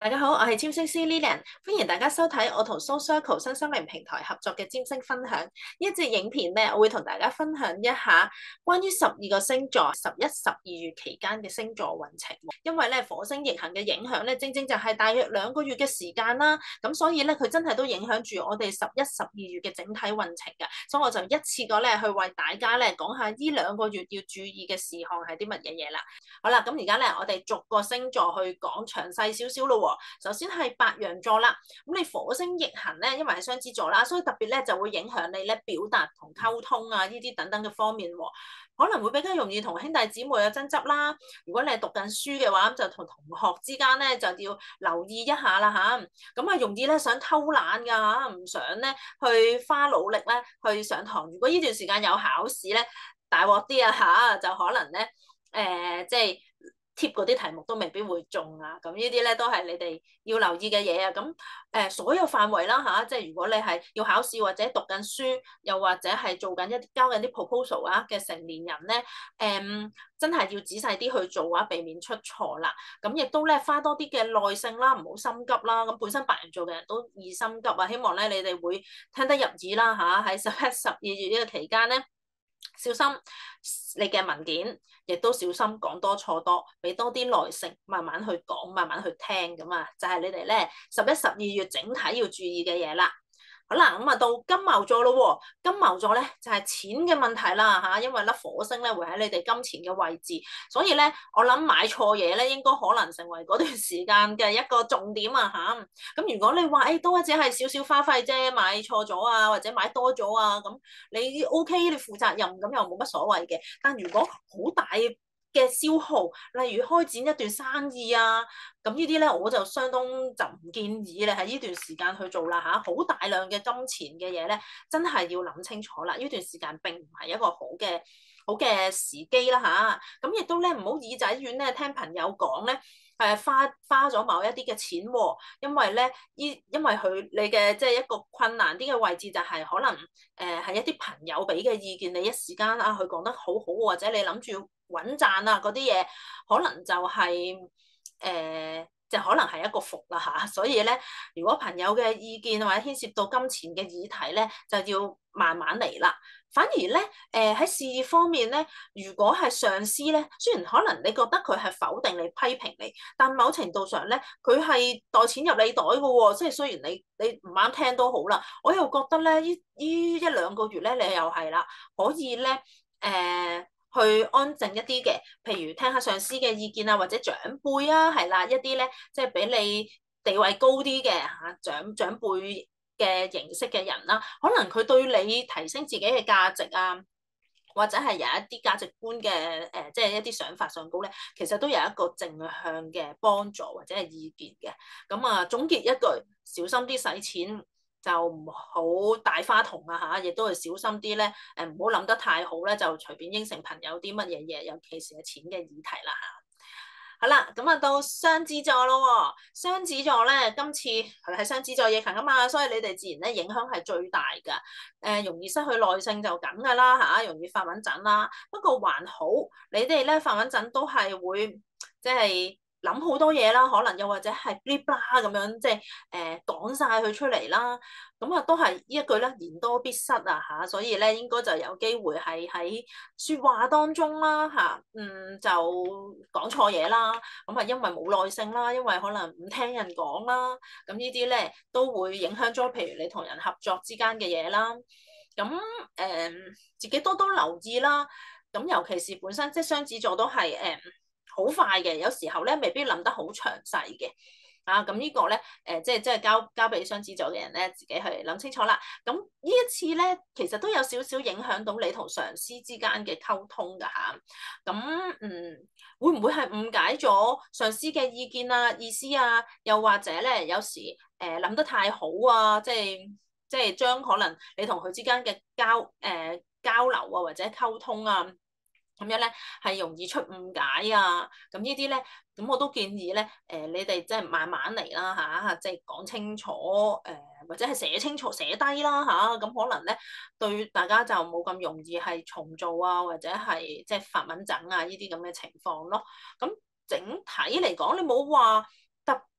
大家好，我係占星師 Lilian，歡迎大家收睇我同 Soul Circle 新心靈平台合作嘅占星分享。呢一節影片咧，我會同大家分享一下關於12個星座11、12月期間嘅星座運程。因為咧火星逆行嘅影響咧，正正就係大約2個月嘅時間啦。咁所以咧，佢真係都影響住我哋11、12月嘅整體運程嘅。所以我就一次過咧去為大家咧講下呢2個月要注意嘅事項係啲乜嘢嘢啦。好啦，咁而家咧我哋逐個星座去講詳細少少咯。首先係白羊座啦，咁你火星逆行咧，因為係雙子座啦，所以特別咧就會影響你咧表達同溝通啊呢啲等等嘅方面，可能會比較容易同兄弟姊妹有爭執啦。如果你係讀緊書嘅話，咁就同同學之間咧就要留意一下啦吓。咁啊容易咧想偷懶噶吓，唔想咧去花努力咧去上堂。如果呢段時間有考試咧，大鑊啲啊吓，就可能咧即係貼嗰啲題目都未必會中啊，咁呢啲咧都係你哋要留意嘅嘢啊。咁所有範圍啦吓，即係如果你係要考試或者讀緊書，又或者係做緊交緊啲 proposal 啊嘅成年人咧，真係要仔細啲去做啊，避免出錯啦。咁亦都咧花多啲嘅耐性啦，唔好心急啦。咁本身白羊座嘅人都易心急啊，希望咧你哋會聽得入耳啦吓。喺11、12月呢個期間咧，小心你嘅文件，亦都小心講多錯多，俾多啲耐性，慢慢去講，慢慢去聽咁啊，就係你哋咧11、12月整體要注意嘅嘢啦。好啦，咁啊到金牛座咯喎，金牛座咧就係錢嘅問題啦嚇，因為咧火星咧會喺你哋金錢嘅位置，所以咧我諗買錯嘢咧應該可能成為嗰段時間嘅一個重點啊嚇。咁如果你話都只係少少花費啫，買錯咗啊，或者買多咗啊，咁你 OK，你負責任咁又冇乜所謂嘅。但如果好大嘅消耗，例如開展一段生意啊，咁呢啲咧我就相當就唔建議你喺呢段時間去做啦嚇。好大量嘅金錢嘅嘢咧，真係要諗清楚啦。呢段時間並唔係一個好嘅時機啦嚇。咁亦都咧唔好耳仔軟咧，聽朋友講咧。花咗某一啲嘅錢喎，因為咧，因為你嘅即係一個困難啲嘅位置就係可能係一啲朋友俾嘅意見，你一時間啊佢講得好好，或者你諗住穩賺啊嗰啲嘢，可能就係就可能係一個伏啦嚇。所以咧，如果朋友嘅意見或者牽涉到金錢嘅議題咧，就要慢慢嚟啦。反而咧，喺事業方面咧，如果係上司咧，雖然可能你覺得佢係否定你、批評你，但某程度上咧，佢係袋錢入你袋嘅喎。即係雖然你唔啱聽都好啦，我又覺得咧，呢1-2個月咧，你又係啦，可以咧，去安靜一啲嘅，譬如聽下上司嘅意見啊，或者長輩啊，係啦，一啲咧，即係比你地位高啲嘅嚇長輩嘅形式嘅人啦，可能佢對你提升自己嘅價值啊，或者係有一啲價值觀嘅即係一啲想法上高咧，其實都有一個正向嘅幫助或者係意見嘅。咁啊，總結一句，小心啲使錢，就唔好大花筒啊嚇，亦都係小心啲咧，唔好諗得太好咧，就隨便應承朋友啲乜嘢嘢，尤其是係錢嘅議題啦嚇。好啦，咁啊到雙子座咯喎，雙子座咧今次係雙子座逆行啊嘛，所以你哋自然咧影響係最大㗎。容易失去耐性就咁㗎啦嚇，容易發穩陣啦。不過還好，你哋咧發穩陣都係會即係諗好多嘢啦，可能又或者係 blah blah 咁樣，即係講晒佢出嚟啦。咁啊都係呢一句咧，言多必失啊嚇，所以咧應該就有機會係喺説話當中啦嚇，就講錯嘢啦。咁啊因為冇耐性啦，因為可能唔聽人講啦，咁呢啲咧都會影響咗，譬如你同人合作之間嘅嘢啦。咁自己多多留意啦。咁尤其是本身即係雙子座都係好快嘅，有時候咧未必諗得好詳細嘅。咁呢個咧，即係交俾雙子座嘅人咧，自己去諗清楚啦。咁呢一次咧，其實都有少少影響到你同上司之間嘅溝通㗎嚇。咁會唔會係誤解咗上司嘅意見啊、意思啊？又或者咧，有時諗得太好啊，即係將可能你同佢之間嘅交流啊，或者溝通啊。咁樣咧係容易出誤解啊！咁呢啲咧，咁我都建議咧，你哋即係慢慢嚟啦嚇，即係講清楚，或者係寫清楚寫低啦嚇，咁可能咧對大家就冇咁容易係重做啊，或者係即係發敏疹啊呢啲咁嘅情況咯。咁整體嚟講，你冇話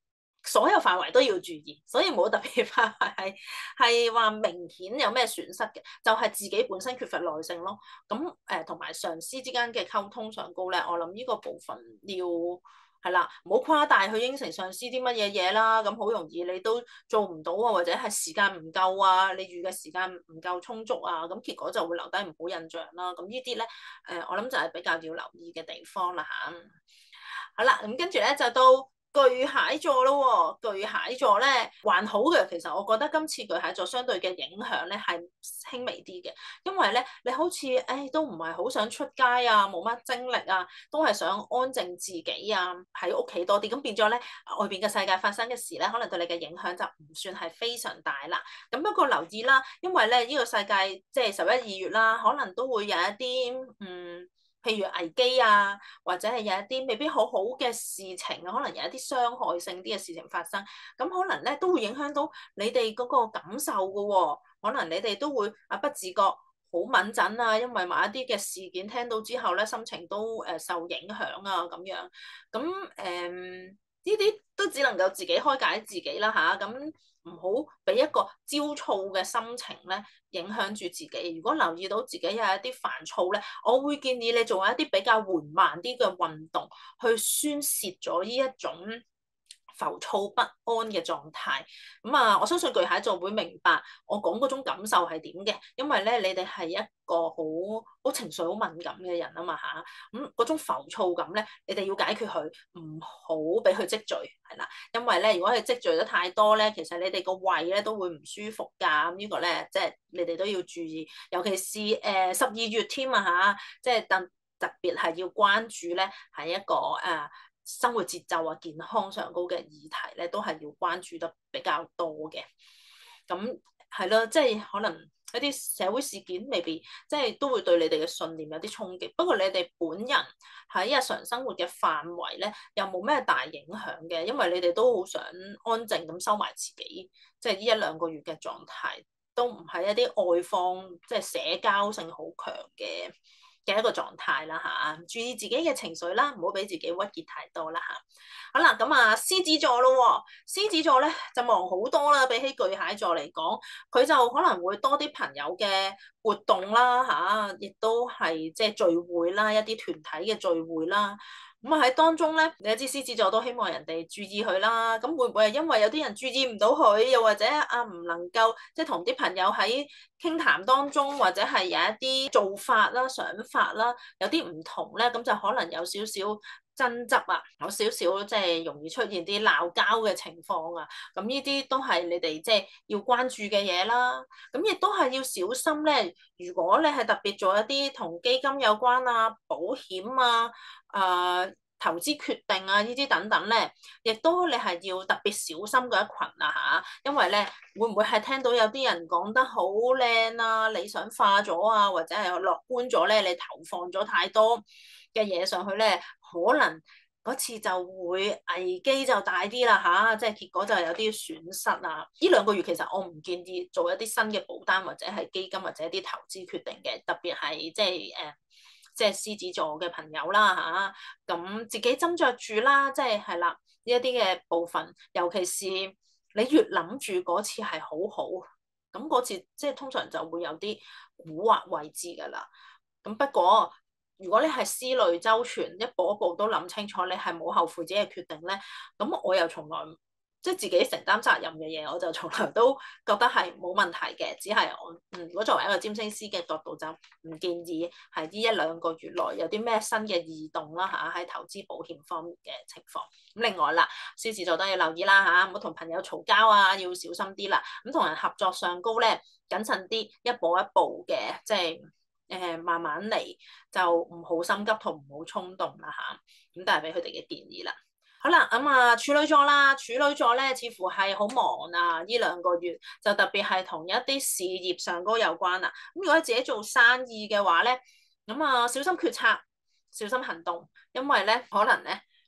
所有範圍都要注意，所以冇特別範圍係話明顯有咩損失嘅，就係自己本身缺乏耐性咯。咁同埋上司之間嘅溝通上高咧，我諗呢個部分要係啦，唔好誇大去應承上司啲乜嘢嘢啦。咁好容易你都做唔到啊，或者係時間唔夠啊，你預嘅時間唔夠充足啊，咁結果就會留低唔好印象啦。咁呢啲咧我諗就係比較要留意嘅地方啦嚇。好啦，咁跟住咧就到巨蟹座咯喎，巨蟹座咧還好嘅，其實我覺得今次巨蟹座相對嘅影響咧係輕微啲嘅，因為咧你好似都唔係好想出街啊，冇乜精力啊，都係想安靜自己啊，喺屋企多啲，咁變咗咧外邊嘅世界發生嘅事咧，可能對你嘅影響就唔算係非常大啦。咁不過留意啦，因為咧呢個世界即係11、2月啦，可能都會有一啲譬如危機啊，或者係有一啲未必好好嘅事情啊，可能有一啲傷害性啲嘅事情發生，咁可能咧都會影響到你哋嗰個感受噶喎，可能你哋都會不自覺好敏感啊，因為某一啲嘅事件聽到之後咧，心情都受影響啊咁樣，咁呢啲都只能夠自己開解自己啦吓，咁唔好俾一個焦躁嘅心情咧影響住自己。如果留意到自己有一啲煩躁咧，我會建議你做一啲比較緩慢啲嘅運動，去宣泄咗呢一種浮躁不安嘅狀態。我相信巨蟹座會明白我講嗰種感受係點嘅，因為咧你哋係一個好情緒好敏感嘅人啊嘛嚇，嗰種浮躁感咧，你哋要解決佢，唔好俾佢積聚，係啦，因為咧如果佢積聚得太多咧，其實你哋個胃咧都會唔舒服㗎，呢個咧即係你哋都要注意，尤其是12月添啊嚇，即係特別係要關注咧係一個生活節奏啊、健康上高嘅議題咧，都係要關注得比較多嘅。咁係咯，即係可能一啲社會事件未必即係都會對你哋嘅信念有啲衝擊。不過你哋本人喺日常生活嘅範圍咧，又冇咩大影響嘅，因為你哋都好想安靜咁收埋自己，即係呢1-2個月嘅狀態，都唔係一啲外放即係社交性好強嘅一個狀態啦嚇，注意自己嘅情緒啦，唔好俾自己鬱結太多啦嚇。好啦，咁獅子座咯喎，獅子座咧就忙好多啦，比起巨蟹座嚟講，佢就可能會多啲朋友嘅活動啦嚇，亦都係即係聚會啦，一啲團體嘅聚會啦。喺當中咧，你知獅子座都希望人哋注意佢啦。咁會唔會係因為有啲人注意唔到佢，又或者唔能夠即係同啲朋友喺傾談當中，或者係有一啲做法啦、想法啦，有啲唔同咧，咁就可能有少少爭執啊，有少少即係容易出現啲鬧交嘅情況啊。咁呢啲都係你哋即係要關注嘅嘢啦。咁亦都係要小心咧。如果你係特別做一啲同基金有關啊、保險啊、投資決定啊呢啲等等咧，亦都你係要特別小心嗰一群啊嚇，因為咧會唔會係聽到有啲人講得好靚啊、理想化咗啊，或者係樂觀咗咧，你投放咗太多嘅嘢上去咧，可能嗰次就會危機就大啲啦嚇，即係結果就有啲損失啊！呢2個月其實我唔建議做一啲新嘅保單或者係基金或者一啲投資決定嘅，特別係即係獅子座嘅朋友啦嚇，咁自己斟酌住啦，即係係啦呢一啲嘅部分，尤其是你越諗住嗰次係好好，咁嗰次即係通常就會有啲蠱惑位置噶啦。咁不過如果你係思慮周全，一步一步都諗清楚，你係冇後悔自己嘅決定咧，咁我又從來即係自己承擔責任嘅嘢，我就從來都覺得係冇問題嘅。只係我如果作為一個占星師嘅角度，就唔建議係呢1-2個月內有啲咩新嘅異動啦嚇，喺投資保險方面嘅情況。咁另外啦，獅子座都要留意啦嚇，唔好同朋友嘈交啊，要小心啲啦。咁同人合作上高咧，謹慎啲，一步一步嘅，即係慢慢嚟，就唔好心急同唔好衝動啦嚇。咁都係俾佢哋嘅建議啦。好啦，處女座啦，處女座咧似乎係好忙啊，呢2個月就特別係同一啲事業上高有關啦。咁如果自己做生意嘅話咧，小心決策，小心行動，因為咧可能咧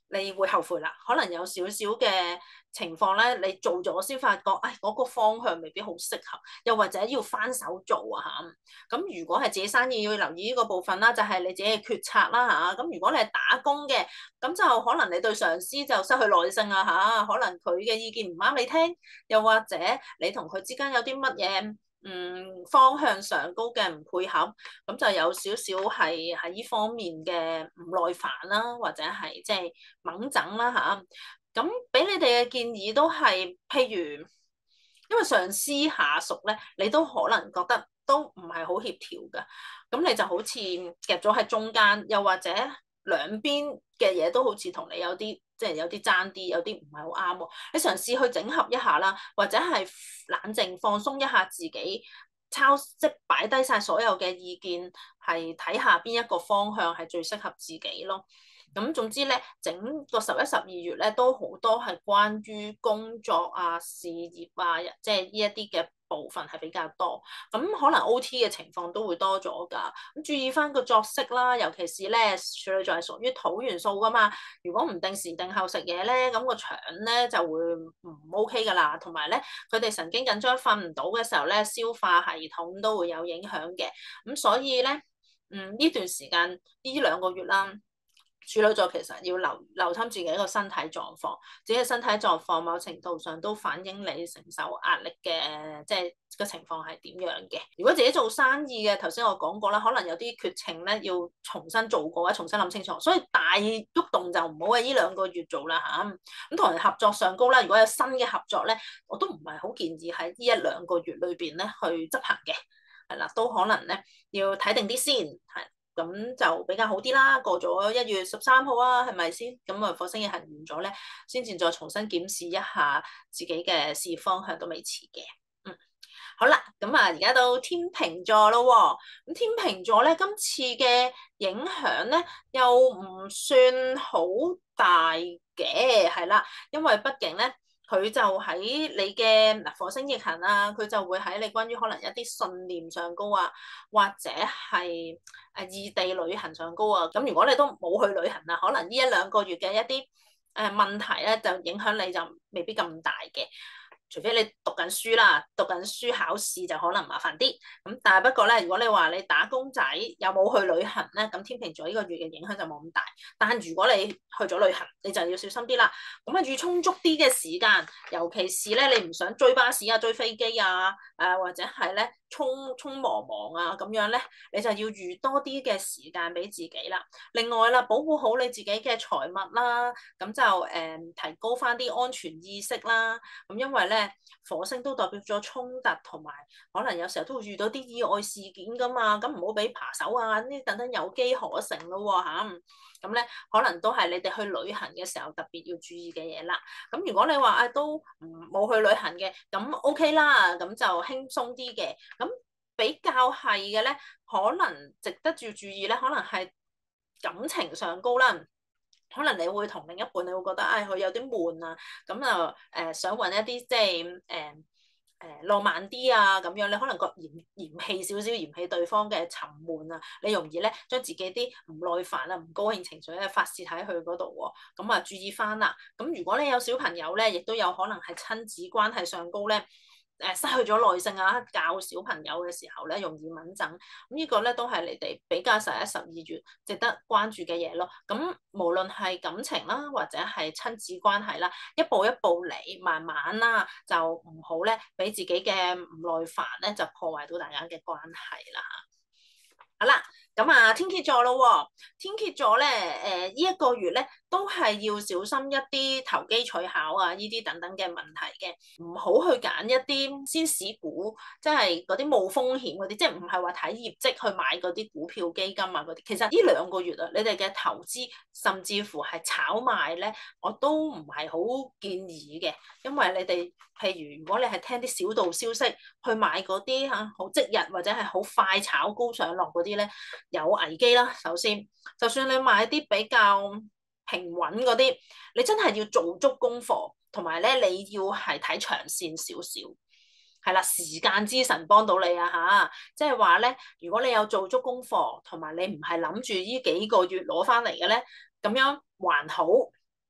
你會後悔啦，可能有少少嘅情況咧，你做咗先發覺，嗰個方向未必好適合，又或者要翻手做啊嚇。咁如果係自己生意要留意呢個部分啦，就係你自己嘅決策啦嚇。咁如果你係打工嘅，咁就可能你對上司就失去耐性啊嚇，可能佢嘅意見唔啱你聽，又或者你同佢之間有啲乜嘢方向上高嘅唔配合，咁就有少少係喺呢方面嘅唔耐煩啦，或者係即係猛整啦嚇。咁俾你哋嘅建議都係，譬如因為上司下屬咧，你都可能覺得都唔係好協調㗎，咁你就好似夾咗喺中間，又或者兩邊嘅嘢都好似同你有啲即係有啲爭啲，有啲唔係好啱喎。你嘗試去整合一下啦，或者係冷靜放鬆一下自己，即擺低晒所有嘅意見，係睇下邊一個方向係最適合自己咯。咁總之咧，整個11、12月咧都好多係關於工作啊、事業啊，即係呢一啲嘅部分係比較多。咁可能 OT 嘅情況都會多咗㗎。咁注意翻個作息啦，尤其是咧處女座係屬於土元素㗎嘛。如果唔定時定候食嘢咧，咁個腸咧就會唔 OK 㗎啦。同埋咧，佢哋神經緊張瞓唔到嘅時候咧，消化系統都會有影響嘅。咁所以咧，呢段時間呢兩個月啦。處女座其實要留心自己一個身體狀況，自己嘅身體狀況某程度上都反映你承受壓力嘅，即係個情況係點樣嘅。如果自己做生意嘅，頭先我講過啦，可能有啲決情咧要重新做過，或者重新諗清楚，所以大喐動就唔好喺呢兩個月做啦嚇。咁同人合作上高啦，如果有新嘅合作咧，我都唔係好建議喺呢一兩個月裏邊咧去執行嘅，係啦，都可能咧要睇定啲先，係。咁就比較好啲啦。過咗1月13號啊，係咪先？咁啊，火星逆行完咗咧，先至再重新檢視一下自己嘅事業方向都未遲嘅。好啦，咁啊，而家到天秤座咯喎。咁天秤座咧，今次嘅影響咧又唔算好大嘅，係啦，因為畢竟咧。佢就喺你嘅火星逆行啊，佢就會喺你關於可能一啲信念上高啊，或者係異地旅行上高啊。咁如果你都冇去旅行啊，可能呢一兩個月嘅一啲問題咧，就影響你就未必咁大嘅。除非你讀緊書啦，讀緊書考試就可能麻煩啲。咁但係不過咧，如果你話你打工仔有冇去旅行咧，咁天秤座呢個月嘅影響就冇咁大。但係如果你去咗旅行，你就要小心啲啦。咁啊，預充足啲嘅時間，尤其是咧你唔想追巴士啊、追飛機啊，或者係咧匆忙啊咁樣咧，你就要預多啲嘅時間俾自己啦。另外啦，保護好你自己嘅財物啦，咁就提高翻啲安全意識啦。咁因為咧。火星都代表咗衝突，同埋可能有時候都會遇到啲意外事件噶嘛，咁唔好俾扒手啊呢啲等等有機可乘咯喎嚇。咁咧可能都係你哋去旅行嘅時候特別要注意嘅嘢啦。咁如果你話都冇去旅行嘅，咁 OK 啦，咁就輕鬆啲嘅。咁比較係嘅咧，可能值得注意咧，可能係感情上高啦。可能你會同另一半，你會覺得佢有啲悶啊，咁就想揾一啲即係浪漫啲啊咁樣，你可能覺嫌棄少少，嫌棄對方嘅沉悶啊，你容易咧將自己啲唔耐煩啊、唔高興情緒咧發泄喺佢嗰度喎，咁啊注意翻啦。咁如果你有小朋友咧，亦都有可能係親子關係上高咧。失去咗耐性啊，教小朋友嘅時候咧，容易敏感。咁呢個咧都係你哋比較11、12月值得關注嘅嘢咯。咁無論係感情啦，或者係親子關係啦，一步一步嚟，慢慢啦，就唔好咧俾自己嘅唔耐煩咧，就破壞到大家嘅關係啦。好啦，咁啊天蠍座咯喎，天蠍座咧，呢一個月咧都係要小心一啲投機取巧啊，呢啲等等嘅問題嘅，唔好去揀一啲先市股，即係嗰啲冇風險嗰啲，即係唔係話睇業績去買嗰啲股票基金啊嗰啲。其實呢兩個月啊，你哋嘅投資甚至乎係炒賣咧，我都唔係好建議嘅，因為你哋譬如如果你係聽啲小道消息去買嗰啲好即日或者係好快炒高上落嗰啲咧，有危機啦。首先，就算你買啲比較平穩嗰啲，你真係要做足功課，同埋咧你要係睇長線少少，係啦，時間之神幫到你啊嚇！即係話咧，如果你有做足功課，同埋你唔係諗住呢幾個月攞翻嚟嘅咧，咁樣還好。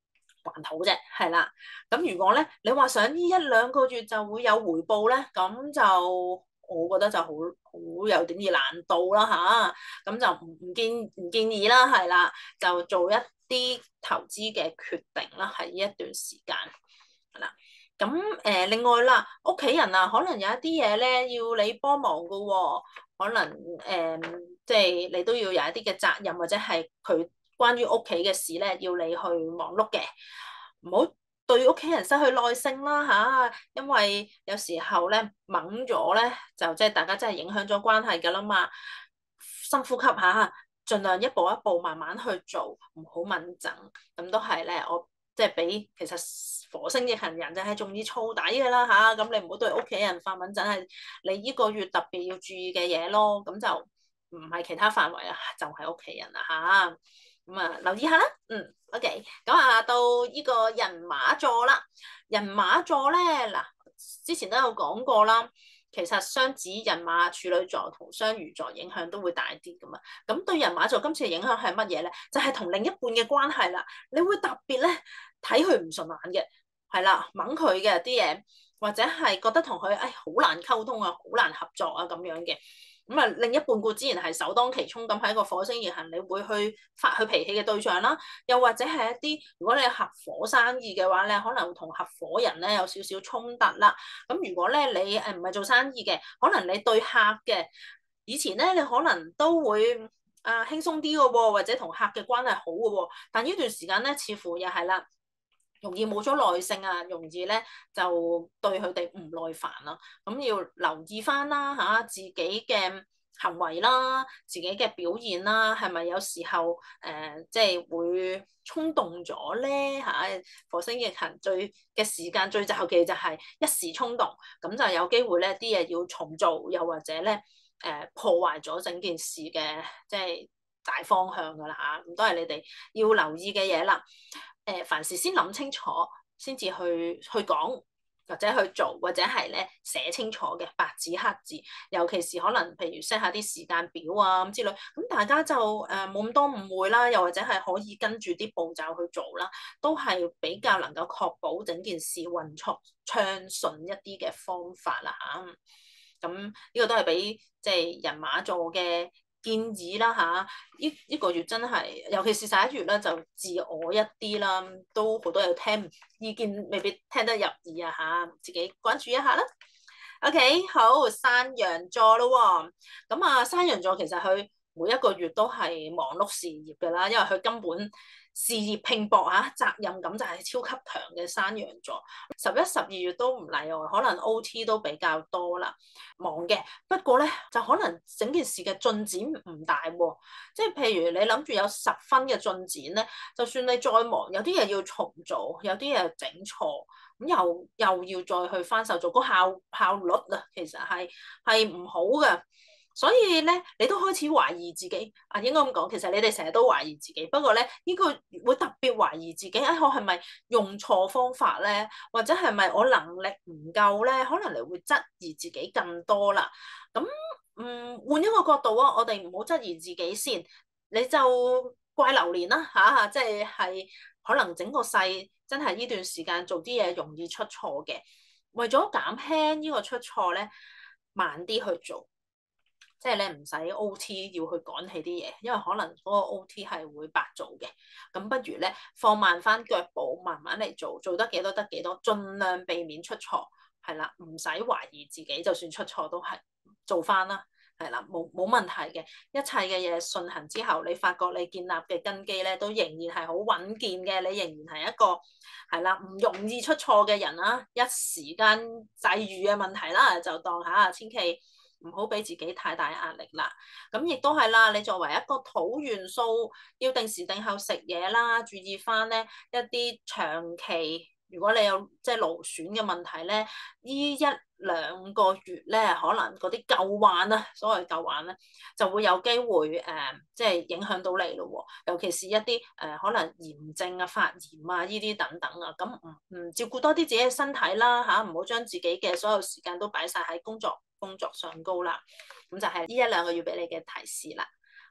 還好啫，係啦。咁如果咧，你話想呢一兩個月就會有回報咧，咁就我覺得就好有點兒難度啦吓，咁就唔建議啦，係啦，就做一啲投資嘅決定啦，喺呢一段時間係啦。咁另外啦，屋企人啊，可能有一啲嘢咧要你幫忙噶喎，可能即係你都要有一啲嘅責任，或者係佢關於屋企嘅事咧，要你去忙碌嘅，唔好對屋企人失去耐性啦吓，因為有時候咧猛咗咧，就即係大家真係影響咗關係噶啦嘛。深呼吸下，盡量一步一步慢慢去做，唔好敏整，咁都係咧。我即係俾其實火星逆行人就係仲要燥底嘅啦吓，咁你唔好對屋企人發敏整，係你呢個月特別要注意嘅嘢咯。咁就唔係其他範圍啦，就係屋企人啦吓。咁啊，留意下啦。OK，咁啊，到呢個人馬座啦。人馬座咧，嗱，之前都有講過啦。其實雙子、人馬、處女座同雙魚座影響都會大啲噶嘛。咁對人馬座今次嘅影響係乜嘢咧？就係同另一半嘅關係啦。你會特別咧睇佢唔順眼嘅，係啦，掹佢嘅啲嘢，或者係覺得同佢好難溝通啊，好難合作啊咁樣嘅。咁啊，另一半固之然係首當其衝咁喺個火星逆行，你會去發佢脾氣嘅對象啦。又或者係一啲，如果你係合夥生意嘅話咧，可能同合夥人咧有少少衝突啦。咁如果咧你唔係做生意嘅，可能你對客嘅以前咧，你可能都會輕鬆啲嘅喎，或者同客嘅關係好嘅喎。但呢段時間咧，似乎又係啦。容易冇咗耐性啊，容易咧就對佢哋唔耐煩啦。咁要留意翻啦嚇，自己嘅行為啦，自己嘅表現啦，係咪有時候即係會衝動咗咧嚇？火星逆行最嘅時間最就忌就係一時衝動，咁就有機會咧啲嘢要重做，又或者咧破壞咗整件事嘅即係大方向噶啦嚇。咁都係你哋要留意嘅嘢啦。凡事先諗清楚，先至去講或者去做，或者係咧寫清楚嘅白紙黑字。尤其是可能譬如 set 下啲時間表啊咁之類，咁大家就冇咁多誤會啦，又或者係可以跟住啲步驟去做啦，都係比較能夠確保整件事運作暢順一啲嘅方法啦嚇。咁呢個都係俾即係人馬座嘅建議啦嚇，呢個月真係，尤其是11月咧，就自我一啲啦，都好多有聽意見，未必聽得入耳啊嚇，自己關注一下啦。OK，好，山羊座咯喎，咁啊，山羊座其實佢每一個月都係忙碌事業㗎啦，因為佢根本事業拼搏嚇，責任感就係超級強嘅山羊座。11、12月都唔例外，可能 OT 都比較多啦，忙嘅。不過咧，就可能整件事嘅進展唔大喎，即係譬如你諗住有10分嘅進展咧，就算你再忙，有啲嘢要重做，有啲嘢整錯，咁又要再去翻手做，個效率啊，其實係唔好嘅。所以咧，你都開始懷疑自己啊，應該咁講，其實你哋成日都懷疑自己，不過咧，呢個會特別懷疑自己，我係咪用錯方法咧，或者係咪我能力唔夠咧？可能你會質疑自己更多啦。咁換一個角度啊，我哋唔好質疑自己先，你就怪流年啦嚇，即係可能整個世真係呢段時間做啲嘢容易出錯嘅，為咗減輕呢個出錯咧，慢啲去做。即係你唔使 OT 要去趕起啲嘢，因為可能嗰個 OT 係會白做嘅。咁不如咧放慢翻腳步，慢慢嚟做，做得幾多得幾多，盡量避免出錯。係啦，唔使懷疑自己，就算出錯都係做翻啦。係啦，冇問題嘅。一切嘅嘢順行之後，你發覺你建立嘅根基咧都仍然係好穩健嘅，你仍然係一個係啦唔容易出錯嘅人啦。一時間際遇嘅問題啦，就當下千祈唔好俾自己太大壓力啦。咁亦都係啦，你作為一個土元素，要定時定候食嘢啦，注意翻咧一啲長期，如果你有即係勞損嘅問題咧，呢1-2個月咧，可能嗰啲舊患啊，所謂舊患咧，就會有機會即係影響到你咯喎。尤其是一啲可能炎症啊、發炎啊呢啲等等啊，咁唔照顧多啲自己嘅身體啦嚇，唔好將自己嘅所有時間都擺晒喺工作上高啦。咁就係呢1-2個月俾你嘅提示啦。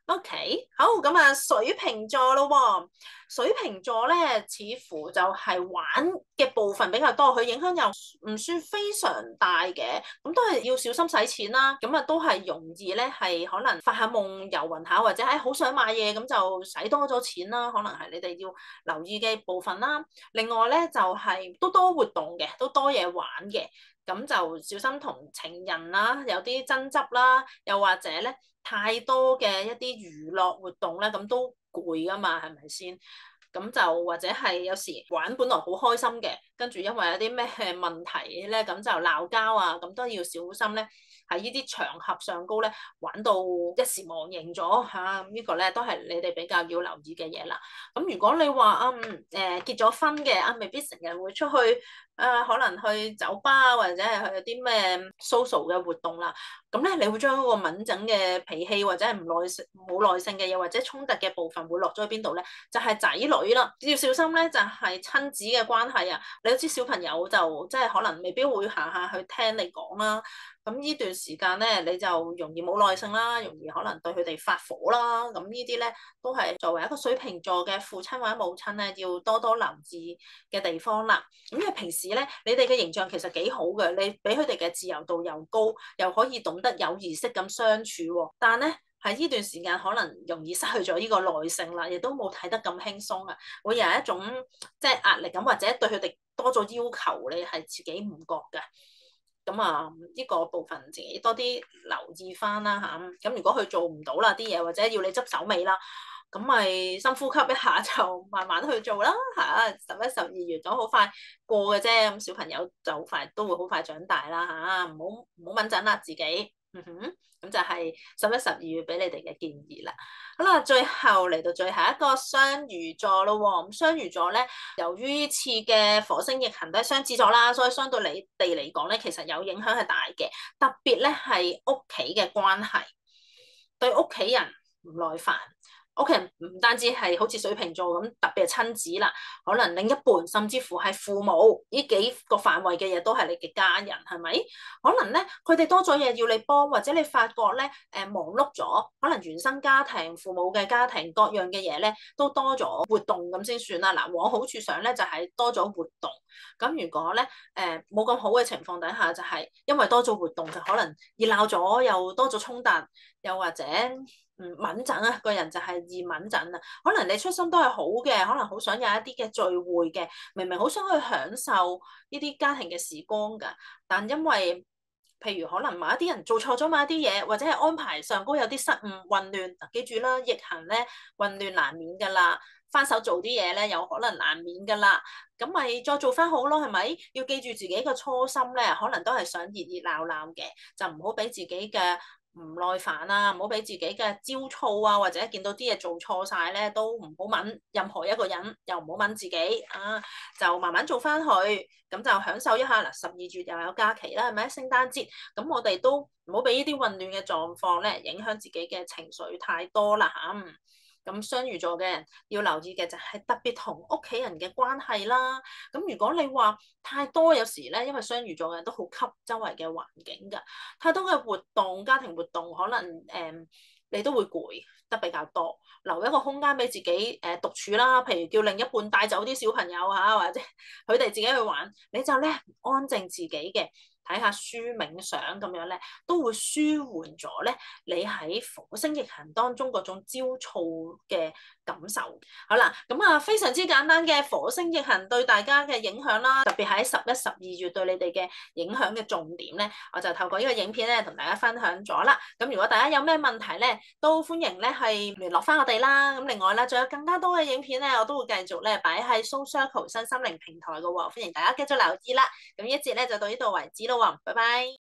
OK，好，咁啊，水瓶座咯喎，水瓶座咧，似乎就係玩嘅部分比較多，佢影響又唔算非常大嘅，咁都係要小心使錢啦，咁啊都係容易咧係可能發下夢遊魂下，或者好想買嘢咁就使多咗錢啦，可能係你哋要留意嘅部分啦。另外咧就係都多活動嘅，都多嘢玩嘅。咁就小心同情人啦，有啲爭執啦，又或者咧太多嘅一啲娛樂活動咧，咁都攰噶嘛，係咪先？咁就或者係有時玩本來好開心嘅，跟住因為有啲咩問題咧，咁就鬧交啊，咁都要小心咧。喺呢啲場合上高咧，玩到一時忘形咗嚇，呢個咧都係你哋比較要留意嘅嘢啦。咁如果你話結咗婚嘅未必成日會出去可能去酒吧或者係去啲咩 social 嘅活動啦。咁咧，你會將嗰個敏感嘅脾氣或者係冇耐性嘅嘢或者衝突嘅部分會落咗去邊度咧？就係仔女啦，要小心咧，就係親子嘅關係啊！你都知小朋友就即係可能未必會下下去聽你講啦。咁呢段時間咧，你就容易冇耐性啦，容易可能對佢哋發火啦。咁呢啲咧都係作為一個水瓶座嘅父親或者母親咧，要多多留意嘅地方啦。咁因為平時咧，你哋嘅形象其實幾好嘅，你俾佢哋嘅自由度又高，又可以懂得有儀式咁相處喎。但咧喺呢段時間可能容易失去咗呢個耐性啦，亦都冇睇得咁輕鬆啊，會有一種即係壓力咁，或者對佢哋多咗要求，你係自己唔覺嘅。咁啊，呢個部分自己多啲留意翻啦嚇。咁如果佢做唔到啦啲嘢，或者要你執手尾啦，咁咪深呼吸一下，就慢慢去做啦嚇。11、12月咁好快過嘅啫，咁小朋友就好快都會好快長大啦嚇。唔好掹陣啦自己。咁就係11、12月俾你哋嘅建議啦。好啦，最後嚟到最後一個雙魚座咯喎。咁雙魚座咧，由於呢次嘅火星逆行都係雙子座啦，所以相對你哋嚟講咧，其實有影響係大嘅。特別咧係屋企嘅關係，對屋企人唔耐煩。屋企人唔單止係好似水瓶座咁，特別係親子啦，可能另一半甚至乎係父母呢幾個範圍嘅嘢都係你嘅家人，係咪？可能咧佢哋多咗嘢要你幫，或者你發覺咧忙碌咗，可能原生家庭、父母嘅家庭各樣嘅嘢咧都多咗活動咁先算啦。嗱，往好處上咧就係多咗活動。咁如果咧冇咁好嘅情況底下，就係因為多咗活動，就可能熱鬧咗，又多咗衝突，又或者敏感啊，個人就係易敏感啊。可能你出心都係好嘅，可能好想有一啲嘅聚會嘅，明明好想去享受呢啲家庭嘅時光㗎，但因為譬如可能某一啲人做錯咗某一啲嘢，或者係安排上高有啲失誤混亂，記住啦，逆行咧混亂難免㗎啦，翻手做啲嘢咧有可能難免㗎啦，咁咪再做翻好咯，係咪？要記住自己嘅初心咧，可能都係想熱熱鬧鬧嘅，就唔好俾自己嘅唔耐煩啊，唔好俾自己嘅焦躁啊，或者見到啲嘢做錯晒咧，都唔好問任何一個人，又唔好問自己啊，就慢慢做翻去，咁就享受一下嗱。12月又有假期啦，係咪？聖誕節，咁我哋都唔好俾呢啲混亂嘅狀況咧，影響自己嘅情緒太多啦嚇。咁雙魚座嘅人要留意嘅就係特別同屋企人嘅關係啦。咁如果你話太多，有時咧，因為雙魚座嘅人都好吸周圍嘅環境㗎，太多嘅活動、家庭活動，可能你都會攰得比較多。留一個空間俾自己獨處啦，譬如叫另一半帶走啲小朋友嚇，或者佢哋自己去玩，你就咧安靜自己嘅。睇下書冥想咁樣咧，都會舒緩咗咧你喺火星逆行當中嗰種焦躁嘅感受。好啦，咁啊非常之簡單嘅火星逆行對大家嘅影響啦，特別喺11、12月對你哋嘅影響嘅重點咧，我就透過呢個影片咧同大家分享咗啦。咁如果大家有咩問題咧，都歡迎咧係聯絡翻我哋啦。咁另外咧，仲有更加多嘅影片咧，我都會繼續咧擺喺 Soul Circle 身心靈平台嘅喎，歡迎大家繼續留意啦。咁呢一節咧就到呢度為止咯。拜拜。